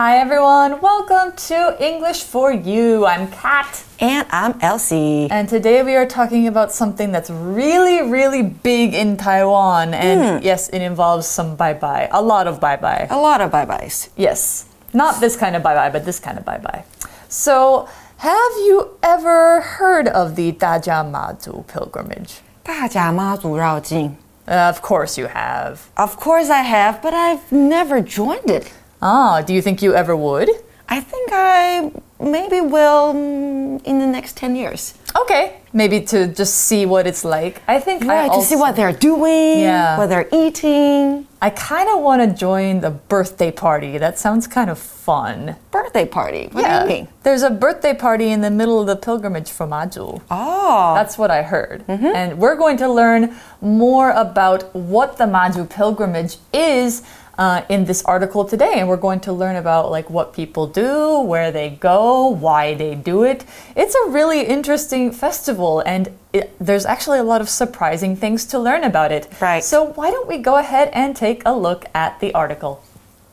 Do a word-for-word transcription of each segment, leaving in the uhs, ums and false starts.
Hi everyone, welcome to English for You. I'm Kat. And I'm Elsie. And today we are talking about something that's really, really big in Taiwan. And mm. yes, it involves some bye-bye. A lot of bye-bye. A lot of bye-byes. Yes. Not this kind of bye-bye, but this kind of bye-bye. So, have you ever heard of the Dajia-Ma-Zu pilgrimage? 大甲媽祖繞境. Uh, of course you have. Of course I have, but I've never joined it. Ah, do you think you ever would? I think I maybe will in the next ten years. Okay, maybe to just see what it's like. I think right, I also, to see what they're doing, yeah. what they're eating. I kind of want to join the birthday party. That sounds kind of fun. Birthday party? What yeah. do you mean? There's a birthday party in the middle of the pilgrimage for Ma-Zu. Oh. That's what I heard. Mm-hmm. And we're going to learn more about what the Ma-Zu pilgrimage is Uh, in this article today, and we're going to learn about like what people do, where they go, why they do it. It's a really interesting festival, and it, there's actually a lot of surprising things to learn about it. Right. So why don't we go ahead and take a look at the article.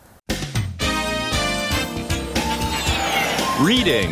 Reading.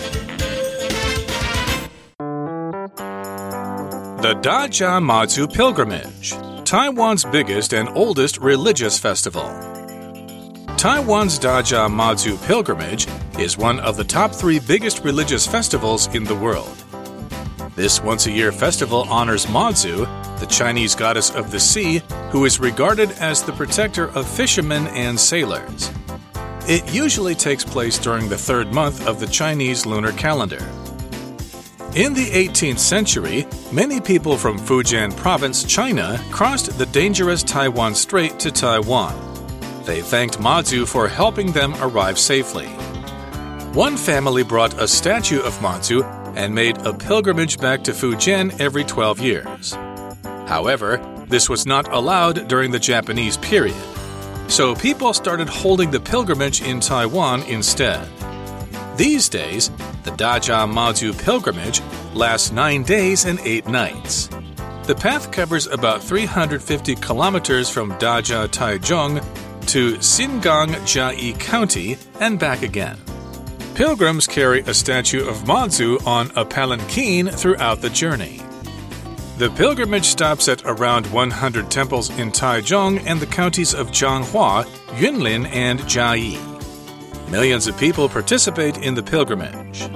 The Dajia-Ma-Zu Pilgrimage, Taiwan's biggest and oldest religious festival. Taiwan's Dajia-Ma-Zu Pilgrimage is one of the top three biggest religious festivals in the world. This once-a-year festival honors Ma-Zu, the Chinese goddess of the sea, who is regarded as the protector of fishermen and sailors. It usually takes place during the third month of the Chinese lunar calendar. In the eighteenth century, many people from Fujian Province, China, crossed the dangerous Taiwan Strait to Taiwan. They thanked Ma-Zu for helping them arrive safely. One family brought a statue of Ma-Zu and made a pilgrimage back to Fujian every twelve years. However, this was not allowed during the Japanese period, so people started holding the pilgrimage in Taiwan instead. These days, the Dajia-Ma-Zu pilgrimage lasts nine days and eight nights. The path covers about three hundred fifty kilometers from Dajia Taichung to Xingang Jiayi County and back again. Pilgrims carry a statue of Ma-Zu on a palanquin throughout the journey. The pilgrimage stops at around one hundred temples in Taichung and the counties of Jianghua, Yunlin, and Jiayi. Millions of people participate in the pilgrimage.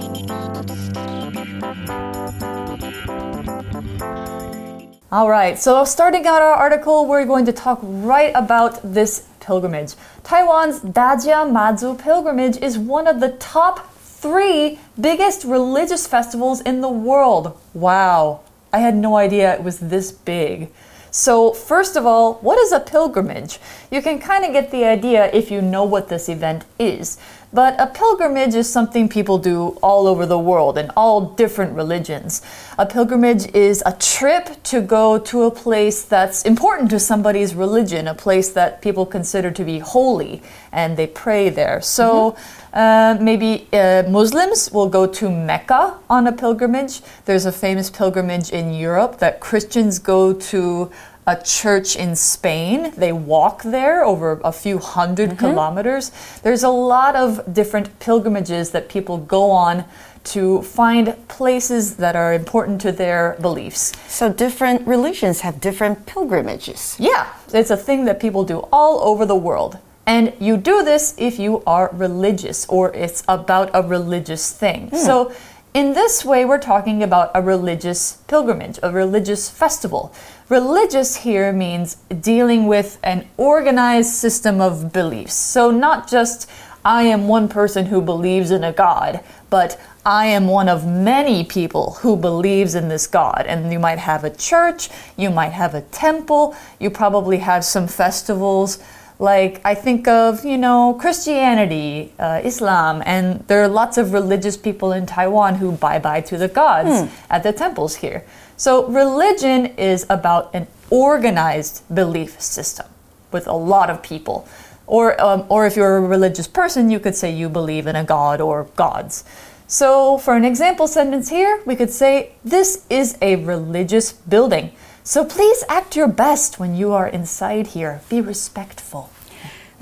All right, so starting out our article, we're going to talk right about this pilgrimage. Taiwan's Dajia-Ma-Zu pilgrimage is one of the top three biggest religious festivals in the world. Wow, I had no idea it was this big. So first of all, what is a pilgrimage? You can kind of get the idea if you know what this event is. But a pilgrimage is something people do all over the world in all different religions. A pilgrimage is a trip to go to a place that's important to somebody's religion, a place that people consider to be holy, and they pray there. So mm-hmm. uh, maybe uh, Muslims will go to Mecca on a pilgrimage. There's a famous pilgrimage in Europe that Christians go to a church in Spain. They walk there over a few hundred mm-hmm. kilometers. There's a lot of different pilgrimages that people go on to find places that are important to their beliefs. So different religions have different pilgrimages. Yeah, it's a thing that people do all over the world. And you do this if you are religious or it's about a religious thing. Mm. So in this way, we're talking about a religious pilgrimage, a religious festival. Religious here means dealing with an organized system of beliefs. So not just, I am one person who believes in a God, but I am one of many people who believes in this God. And you might have a church, you might have a temple, you probably have some festivals. Like, I think of, you know, Christianity, uh, Islam, and there are lots of religious people in Taiwan who bye-bye to the gods mm. at the temples here. So religion is about an organized belief system with a lot of people. Or, um, or if you're a religious person, you could say you believe in a god or gods. So for an example sentence here, we could say, this is a religious building. So please act your best when you are inside here. Be respectful.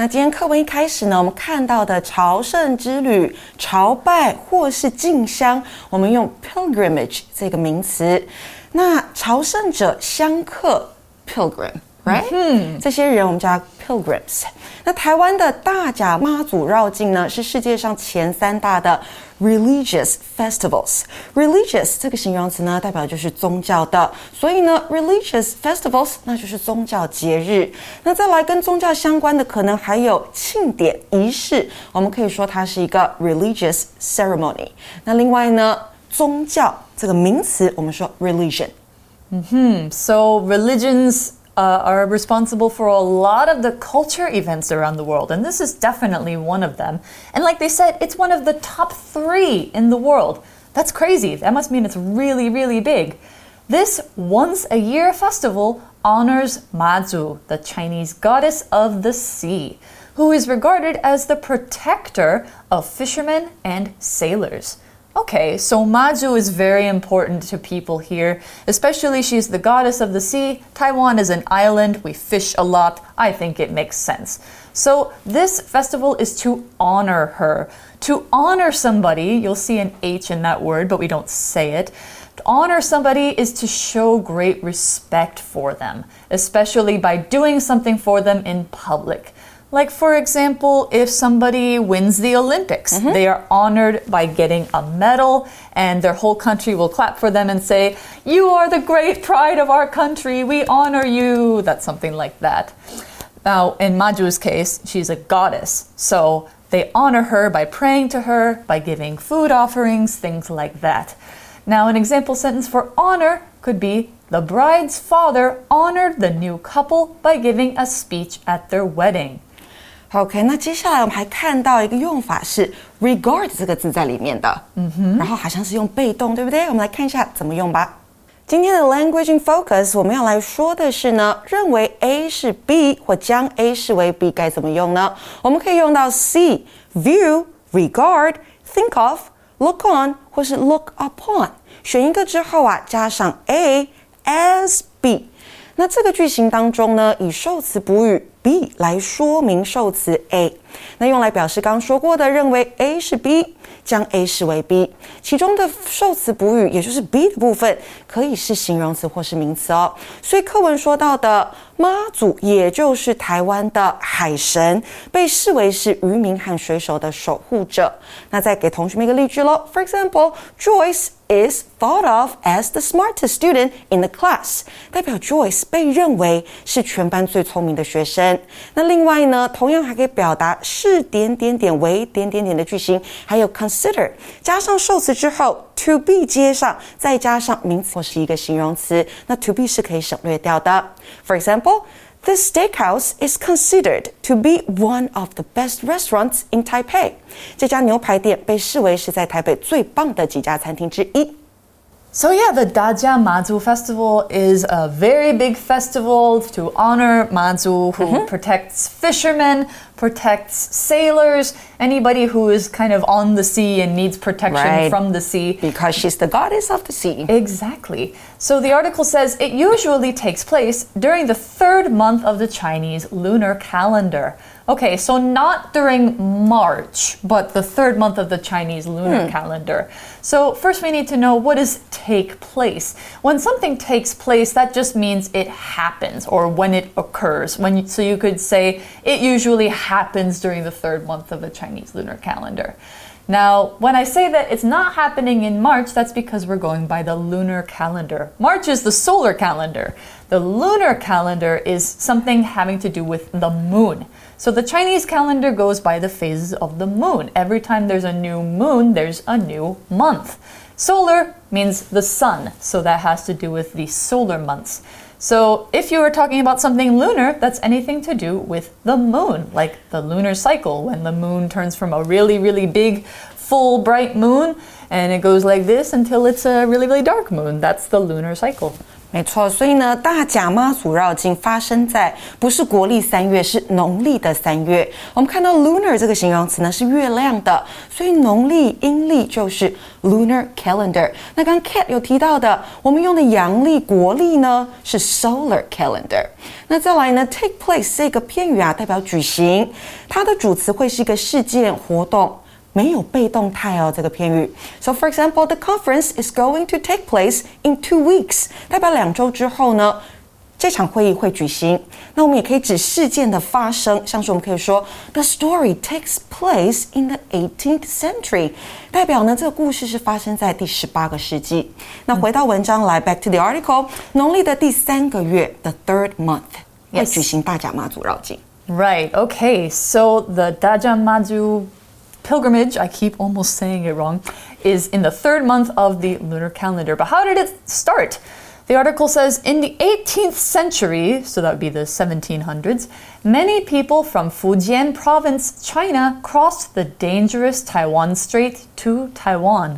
那今天課文一開始呢，我們看到的朝聖之旅、朝拜或是進香，我們用 pilgrimage 這個名詞。那朝聖者、香客 pilgrim。Right？ 嗯，這些人我們叫 pilgrims。那台灣的大甲媽祖繞境呢，是世界上前三大的 religious festivals。religious 這個形容詞呢，代表就是宗教的，所以呢 religious festivals 那就是宗教節日。那再來跟宗教相關的，可能還有慶典儀式，我們可以說它是一個 religious ceremony。那另外呢，宗教這個名詞，我們說 religion。 嗯哼 So religions Uh, are responsible for a lot of the culture events around the world, and this is definitely one of them. And like they said, it's one of the top three in the world. That's crazy. That must mean it's really, really big. This once-a-year festival honors Mazu, the Chinese goddess of the sea, who is regarded as the protector of fishermen and sailors. Okay, so Mazu is very important to people here, especially she's the goddess of the sea. Taiwan is an island, we fish a lot. I think it makes sense. So this festival is to honor her. To honor somebody, you'll see an H in that word, but we don't say it. To honor somebody is to show great respect for them, especially by doing something for them in public. Like, for example, if somebody wins the Olympics, mm-hmm. they are honored by getting a medal, and their whole country will clap for them and say, "You are the great pride of our country, we honor you." That's something like that. Now, in Maju's case, she's a goddess, so they honor her by praying to her, by giving food offerings, things like that. Now, an example sentence for honor could be, the bride's father honored the new couple by giving a speech at their wedding. OK， 那接下來我们還看到一個用法是 regard 這個字在裡面的，嗯哼，然後好像是用被動，對不對？我們來看一下怎麼用吧。今天的 Language in Focus 我們要來說的是呢，認為 A 是 B 或將 A 視為 B 該怎麼用呢？我們可以用到 C view regard think of look on 或是 look upon， 選一個之後啊，加上 A as B。那這個句型當中呢，以受詞補語 B 來說明受詞 A， 那用來表示剛剛說過的認為 A 是 B， 將 A 視為 B， 其中的受詞補語也就是 B 的部分可以是形容詞或是名詞哦。所以課文說到的媽祖，也就是台灣的海神，被視為是漁民和水手的守護者。那再給同學們一個例句咯。For example, Joyce is thought of as the smartest student in the class， 代表 Joyce 被認為是全班最聰明的學生。那另外呢，同樣還可以表達是點點點為點點點的句型，還有 consider 加上受詞之後 to be 接上，再加上名詞或是一個形容詞，那 to be 是可以省略掉的。For example, this steakhouse is considered to be one of the best restaurants in Taipei. 這家牛排店被視為是在台北最棒的幾家餐廳之一。 So yeah, the Dajia Mazu Festival is a very big festival to honor Mazu, who mm-hmm. protects fishermen, protects sailors, anybody who is kind of on the sea and needs protection right. from the sea. Because she's the goddess of the sea. Exactly. So the article says it usually takes place during the third month of the Chinese lunar calendar. Okay, so not during March, but the third month of the Chinese lunar hmm. calendar. So first we need to know, what does take place? When something takes place, that just means it happens, or when it occurs. When you, so you could say it usually happens during the third month of the Chinese lunar calendar. Now, when I say that it's not happening in March, that's because we're going by the lunar calendar. March is the solar calendar. The lunar calendar is something having to do with the moon. So the Chinese calendar goes by the phases of the moon. Every time there's a new moon, there's a new month. Solar means the sun, so that has to do with the solar months. So if you were talking about something lunar, that's anything to do with the moon, like the lunar cycle, when the moon turns from a really, really big, full, bright moon, and it goes like this until it's a really, really dark moon. That's the lunar cycle. 沒錯，所以呢，大甲媽祖繞境發生在不是國曆三月，是農曆的三月。我們看到 lunar 這個形容詞呢是月亮的，所以農曆陰曆就是 lunar calendar。那剛剛 Kat 有提到的，我們用的陽曆國曆呢是 solar calendar。那再來呢 ，take place 這個片語啊，代表舉行，它的主詞會是一個事件活動。沒有被動態哦，這個片語。So for example, the conference is going to take place in two weeks， 代表兩周之後呢，這場會議會舉行。那我們也可以指事件的發生，像是我們可以說 The story takes place in the eighteenth century， 代表呢這個故事是發生在第十八個世紀。那回到文章來 ，back to the article， 農曆的第三個月 ，the third month， 會舉行大甲媽祖繞境。 Right. Okay. So the Daja Maju pilgrimage, I keep almost saying it wrong, is in the third month of the lunar calendar. But how did it start? The article says, in the eighteenth century, so that would be the seventeen hundreds, many people from Fujian province, China, crossed the dangerous Taiwan Strait to Taiwan.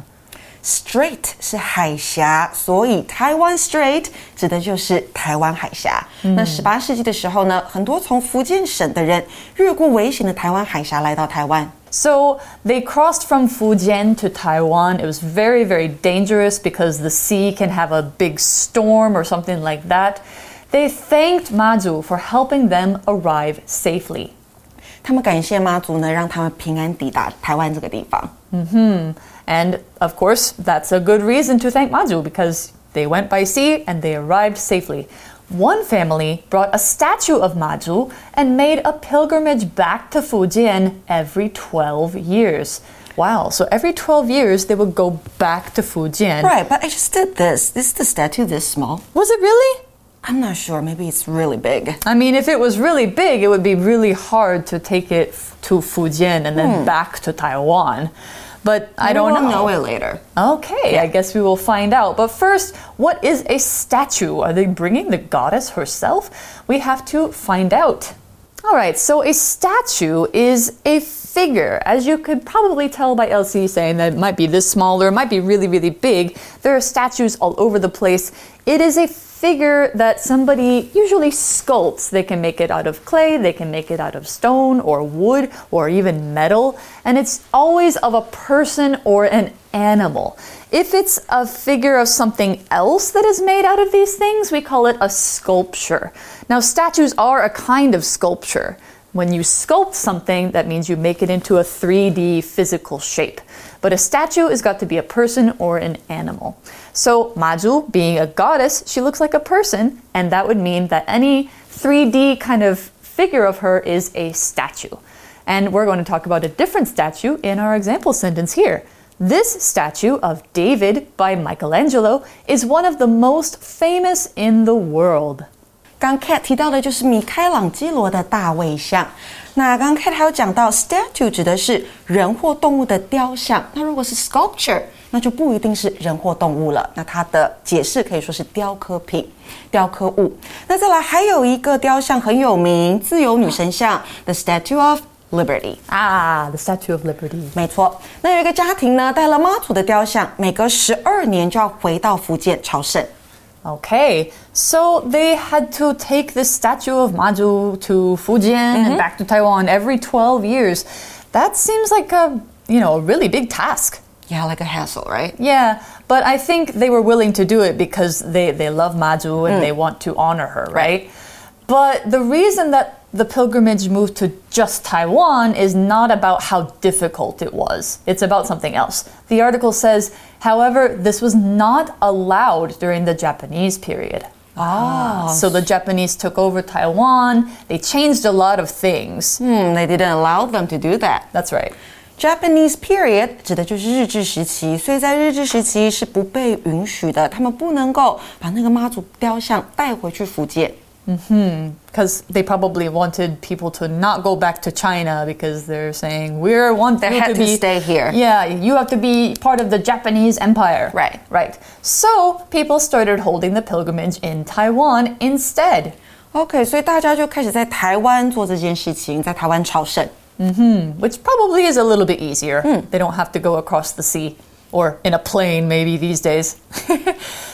Strait 是海峽，所以 Taiwan Strait 指的就是台灣海峽。嗯、那十八世紀的時候呢，很多從福建省的人越過危險的台灣海峽來到台灣。 So they crossed from Fujian to Taiwan. It was very, very dangerous because the sea can have a big storm or something like that. They thanked Maju for helping them arrive safely. 他们感謝媽祖呢，讓他們平安抵達台灣這個地方。 Mm-hmm. And of course, that's a good reason to thank Maju because they went by sea and they arrived safely. One family brought a statue of Maju and made a pilgrimage back to Fujian every twelve years. Wow, so every twelve years they would go back to Fujian. Right, but I just did this. Is the statue this small? Was it really? I'm not sure. Maybe it's really big. I mean, if it was really big, it would be really hard to take it to Fujian and then hmm. back to Taiwan. But I don't know. know. We'll know it later. Okay, yeah. I guess we will find out. But first, what is a statue? Are they bringing the goddess herself? We have to find out. All right, so a statue is a figure. As you could probably tell by Elsie saying that it might be this small or it might be really, really big. There are statues all over the place. It is a figure that somebody usually sculpts. They can make it out of clay, they can make it out of stone or wood or even metal. And it's always of a person or an animal. If it's a figure of something else that is made out of these things, we call it a sculpture. Now, statues are a kind of sculpture. When you sculpt something, that means you make it into a three D physical shape. But a statue has got to be a person or an animal. So Maju, being a goddess, she looks like a person, and that would mean that any three D kind of figure of her is a statue. And we're going to talk about a different statue in our example sentence here. This statue of David by Michelangelo is one of the most famous in the world. 刚 Kat 提到的就是米開朗基羅的大衛像。那剛 Kat 還有講到 statue 指的是人或動物的雕像，那如果是 sculpture， 那就不一定是人或動物了。那它的解釋可以說是雕刻品、雕刻物。那再來還有一個雕像很有名，自由女神像 The Statue of Liberty. Ah, the Statue of Liberty. 沒錯。那有一個家庭呢，帶了媽祖的雕像，每隔十二年就要回到福建朝聖。 Okay, so they had to take this statue of Maju to Fujian mm-hmm. and back to Taiwan every twelve years. That seems like a, you know, a really big task. Yeah, like a hassle, right? Yeah, but I think they were willing to do it because they, they love Maju and mm. they want to honor her, right? right? But the reason that the pilgrimage moved to just Taiwan is not about how difficult it was. It's about something else. The article says, however, this was not allowed during the Japanese period. Ah, so the Japanese took over Taiwan. They changed a lot of things. Hmm, they didn't allow them to do that. That's right. Japanese period 指的就是日治時期，所以在日治時期是不被允許的，他們不能夠把那個媽祖雕像帶回去福建。 Mm-hmm. Because they probably wanted people to not go back to China because they're saying we're want they you had to, to be, stay here. Yeah, you have to be part of the Japanese empire. Right, right. So people started holding the pilgrimage in Taiwan instead. Okay, 所以大家就開始在台灣做這件事情，在台灣朝聖。 Mm-hmm. Which probably is a little bit easier. Mm. They don't have to go across the sea or in a plane maybe these days.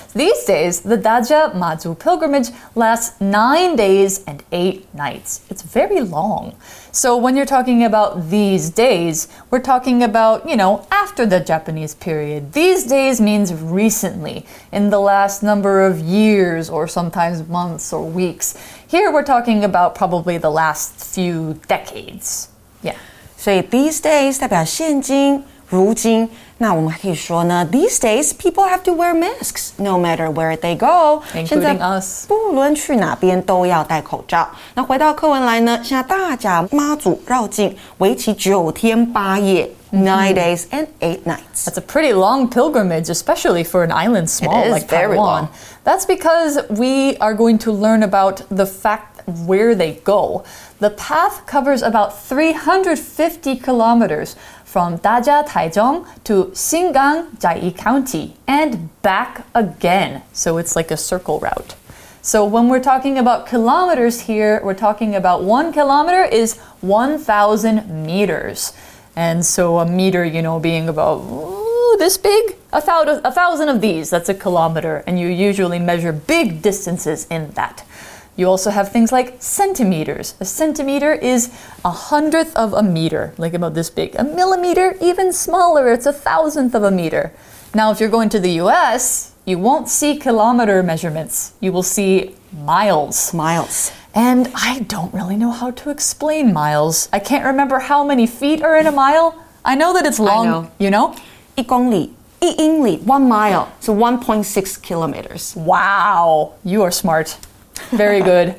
These days, the Daja Mazu pilgrimage lasts nine days and eight nights. It's very long. So when you're talking about these days, we're talking about, you know, after the Japanese period. These days means recently, in the last number of years or sometimes months or weeks. Here we're talking about probably the last few decades. Yeah. 所以 these days 代表现今、如今。那我们还可以说呢 these days people have to wear masks no matter where they go. Including us. 不論去哪邊都要戴口罩。那回到課文來呢，現在大甲媽祖繞境為期九天八夜。Nine days and eight nights. That's a pretty long pilgrimage, especially for an island small like Taiwan. Long. That's because we are going to learn about the fact where they go. The path covers about three hundred fifty kilometers from Daja, Taichung to Xingang, Jiayi County, and back again. So it's like a circle route. So when we're talking about kilometers here, we're talking about one kilometer is one thousand meters. And so a meter, you know, being about ooh, this big, a thousand, a thousand of these, that's a kilometer. And you usually measure big distances in that. You also have things like centimeters. A centimeter is a hundredth of a meter, like about this big. A millimeter, even smaller, it's a thousandth of a meter. Now, if you're going to the U S, you won't see kilometer measurements. You will see miles. Miles. And I don't really know how to explain miles. I can't remember how many feet are in a mile. I know that it's long, I know. You know? 一公里, 一英里, one mile, so one point six kilometers. Wow, you are smart. Very good.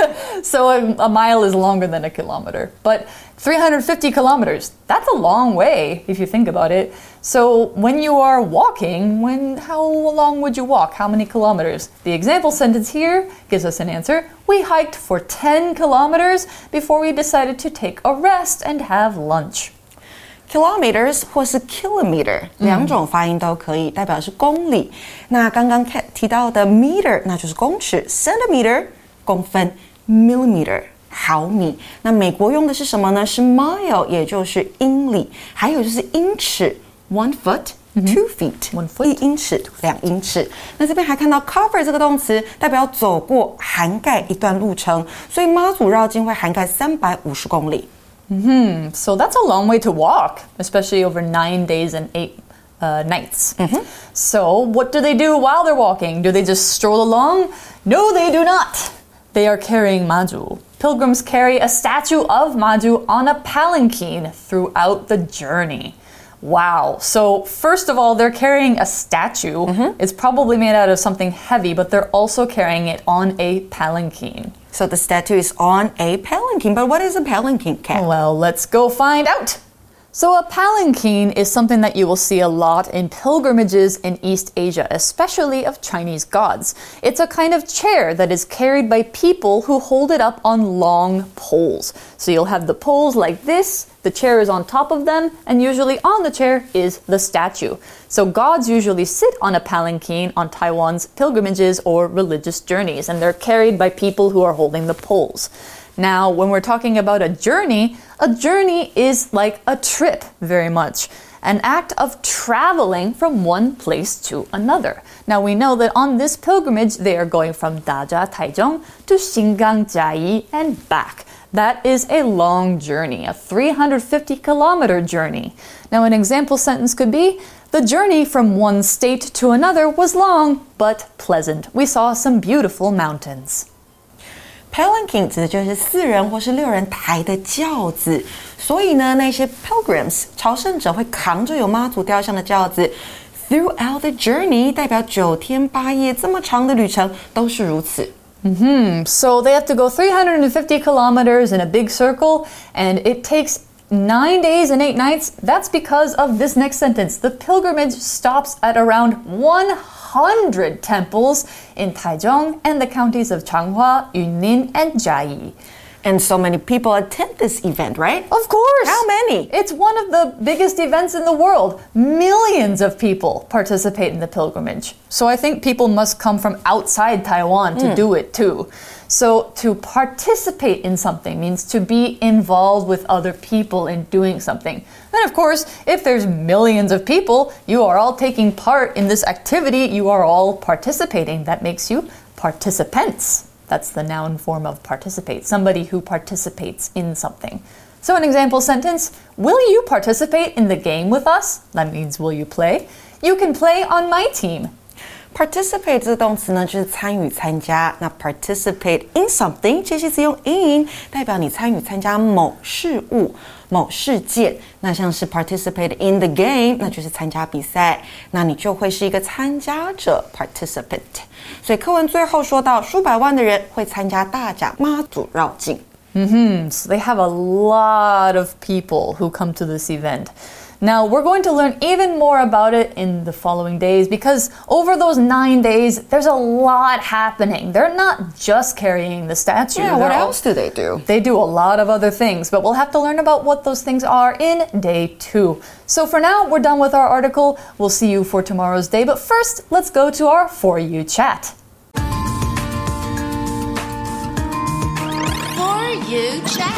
So a, a mile is longer than a kilometer. But three hundred fifty kilometers, that's a long way if you think about it. So when you are walking, when how long would you walk? How many kilometers? The example sentence here gives us an answer. We hiked for ten kilometers before we decided to take a rest and have lunch. Kilometers 或是 kilometer 两種发音都可以，代表是公里。那刚刚提到的 meter 那就是公尺 ，centimeter 公分 ，millimeter 毫米。那美国用的是什么呢？是 mile， 也就是英里。还有就是英尺 one foot。Two feet， one foot， 一英尺，两英尺。那这邊還看到 cover 這個動詞，代表走過、涵蓋一段路程，所以媽祖繞境會涵蓋三百五十公里。 Mm-hmm. So that's a long way to walk, especially over nine days and eight uh, nights. Mm-hmm. So what do they do while they're walking? Do they just stroll along? No, they do not. They are carrying Maju. Pilgrims carry a statue of Maju on a palanquin throughout the journey. Wow. So first of all, they're carrying a statue. Mm-hmm. It's probably made out of something heavy, but they're also carrying it on a palanquin. So the statue is on a palanquin. But what is a palanquin, Kat? Well, let's go find out. So a palanquin is something that you will see a lot in pilgrimages in East Asia, especially of Chinese gods. It's a kind of chair that is carried by people who hold it up on long poles. So you'll have the poles like this, the chair is on top of them, and usually on the chair is the statue. So gods usually sit on a palanquin on Taiwan's pilgrimages or religious journeys, and they're carried by people who are holding the poles. Now, when we're talking about a journey, a journey is like a trip very much, an act of traveling from one place to another. Now, we know that on this pilgrimage, they are going from Daja, Taichung to Xingang, Jiayi, and back. That is a long journey, a three hundred fifty kilometer journey. Now, an example sentence could be, the journey from one state to another was long, but pleasant. We saw some beautiful mountains. Palanquin 指的就是四人或是六人抬的轿子，所以呢，那些 pilgrims 朝聖者会扛着有媽祖雕像的轿子 throughout the journey， 代表九天八夜這麼長的旅程都是如此。 Mm-hmm. So they have to go three hundred fifty kilometers in a big circle, and it takes nine days and eight nights. That's because of this next sentence. The pilgrimage stops at around one hundred temples in Taichung and the counties of Changhua, Yunlin, and Jiayi. And so many people attend this event, right? Of course. How many? It's one of the biggest events in the world. Millions of people participate in the pilgrimage. So I think people must come from outside Taiwan to mm. do it too. So to participate in something means to be involved with other people in doing something. And of course, if there's millions of people, you are all taking part in this activity, you are all participating. That makes you participants. That's the noun form of participate, somebody who participates in something. So an example sentence, will you participate in the game with us? That means will you play? You can play on my team. Participate 这个动詞呢，就是参與、參加。那 participate in something， 介系詞用 in， 代表你参與、參加某事物、某事件。那像是 participate in the game， 那就是參加比賽，那你就會是一個參加者 participant。所以課文最後說到，數百萬的人會參加大甲媽祖繞境。 Mm-hmm. So they have a lot of people who come to this event. Now, we're going to learn even more about it in the following days because over those nine days, there's a lot happening. They're not just carrying the statue. Yeah, what else do they do? They do a lot of other things, but we'll have to learn about what those things are in day two. So for now, we're done with our article. We'll see you for tomorrow's day, but first, let's go to our For You chat. For You chat.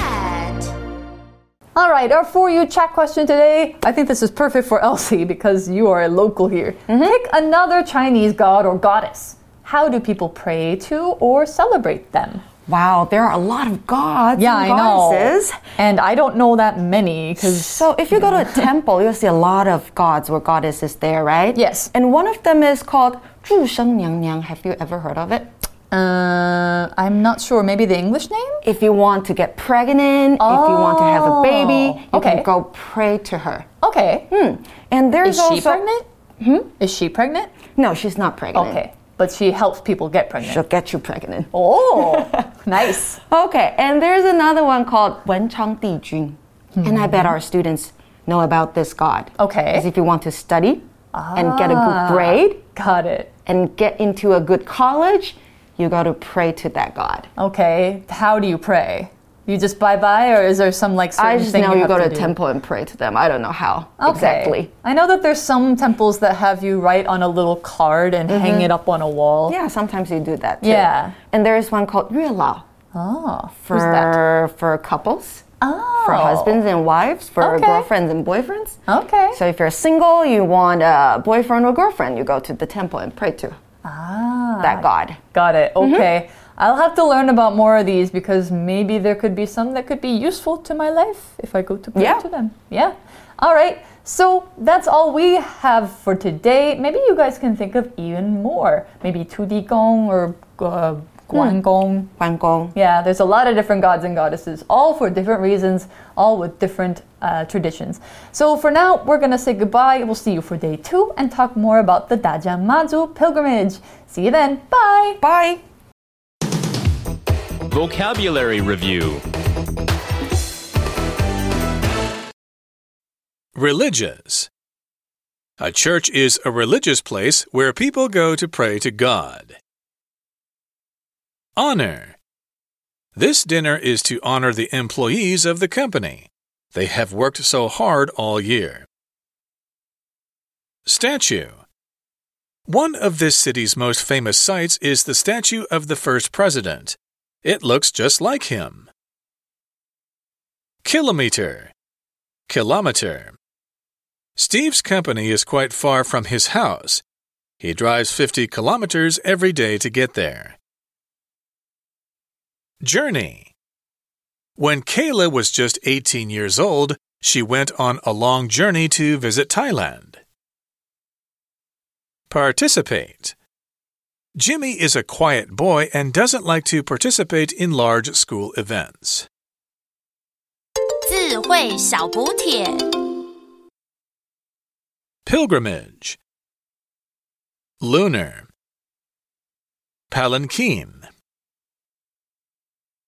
All right, our For You chat question today. I think this is perfect for Elsie because you are a local here. Mm-hmm. Pick another Chinese god or goddess. How do people pray to or celebrate them? Wow, there are a lot of gods yeah, and I goddesses. know. And I don't know that many. Cause, so if you go to a temple, you'll see a lot of gods or goddesses there, right? Yes. And one of them is called 祝生娘娘. Have you ever heard of it? Uh, I'm not sure. Maybe the English name? If you want to get pregnant, oh, if you want to have a baby, you okay. can go pray to her. Okay. Hmm. And there's is also... she pregnant? Hmm? Is she pregnant? No, she's not pregnant. Okay. But she helps people get pregnant. She'll get you pregnant. Oh, nice. Okay. And there's another one called 文昌帝君. Hmm. And I bet our students know about this god. Okay. Because if you want to study ah, and get a good grade. Got it. And get into a good college, you got to pray to that god. Okay. How do you pray? You just bye-bye, or is there some like certain I just thing know you, you go to a do? temple and pray to them. I don't know how okay. exactly. I know that there's some temples that have you write on a little card and mm-hmm. hang it up on a wall. Yeah, sometimes you do that too. Yeah. And there is one called 月老. Oh, for who's that? For couples. Oh. For husbands and wives, for okay. girlfriends and boyfriends. Okay. So if you're single, you want a boyfriend or girlfriend, you go to the temple and pray to ah, that god. Got it. Okay. Mm-hmm. I'll have to learn about more of these because maybe there could be some that could be useful to my life if I go to pray yeah. to them. Yeah. All right. So that's all we have for today. Maybe you guys can think of even more. Maybe Tu Di Gong or uh, Guan Gong. Guan Gong. Yeah, there's a lot of different gods and goddesses, all for different reasons, all with different uh, traditions. So for now, we're going to say goodbye. We'll see you for day two and talk more about the Dajiang Mazu pilgrimage. See you then. Bye. Bye. Vocabulary Review. Religious. A church is a religious place where people go to pray to God. Honor. This dinner is to honor the employees of the company. They have worked so hard all year. Statue. One of this city's most famous sights is the statue of the first president. It looks just like him. Kilometer. Kilometer. Steve's company is quite far from his house. He drives fifty kilometers every day to get there. Journey. When Kayla was just eighteen years old, she went on a long journey to visit Thailand. Participate. Jimmy is a quiet boy and doesn't like to participate in large school events. 智慧小補帖 Pilgrimage. Lunar. Palanquin.